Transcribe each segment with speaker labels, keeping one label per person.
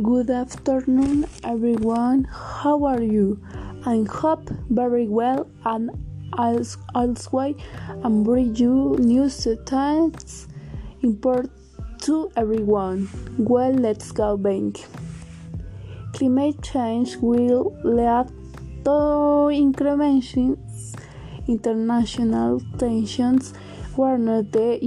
Speaker 1: Good afternoon, everyone. How are you? I hope very well, and also I'm bringing you news that's important to everyone. Well, let's go back. Climate change will lead to increasing international tensions, where the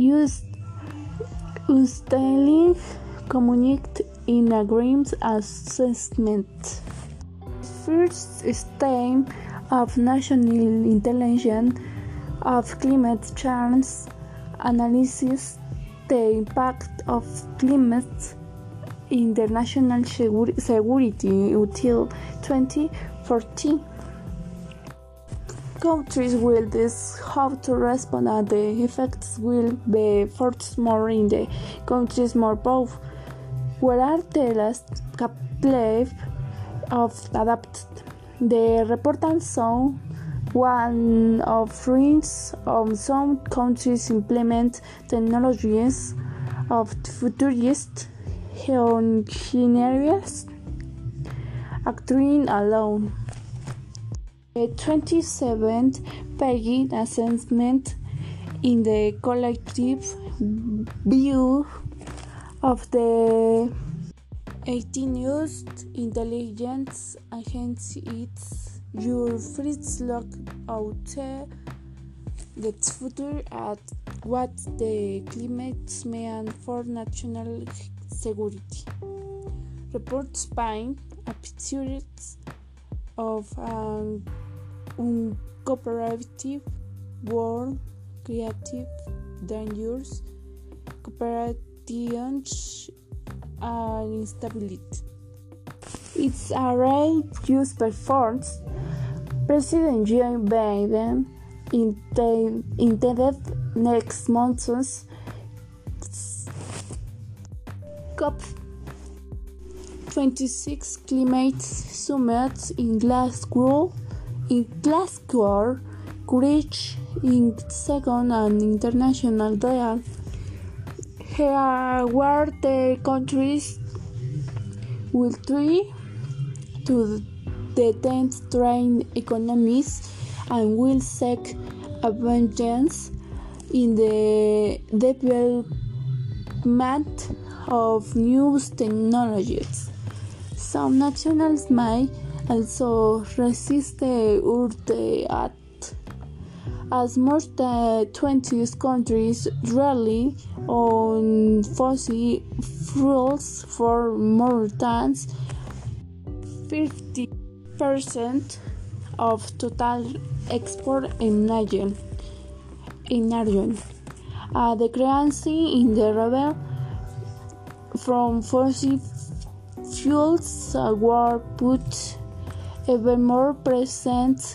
Speaker 1: Unstable communicate in agreement assessment. First stage of national intelligence of climate change analysis the impact of climate in the national security until 2040. Countries will decide how to respond, and the effects will be felt more in the countries more powerful, where are the last capable of adapted. The report also one of friends of some countries implement technologies of futurist engineers acting alone. The 27th page assessment in the collective view of the 18th intelligence agency its your first look out the future at what the climate means for national security. Reports paint a picture of an uncooperative world, creative, dangerous, cooperations, and instability. It's a rare use performance. President Joe Biden intended next month's COP26 climate summit in Glasgow, reach in second and international dialogue, where the countries will try to detain strained economies and will seek advances in the development of new technologies. Some nations may also resist the urge as most 20 countries rely on fossil fuels for more than 50% of total export in region. The currency in the rebel from fossil fuels were put even more pressure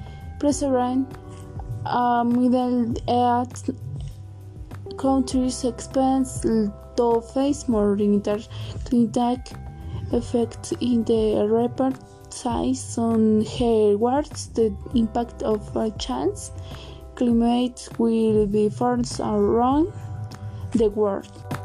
Speaker 1: middle-aged countries expect to face more interconnected effects in the report size on what's the impact of a chance climate will be forced around the world.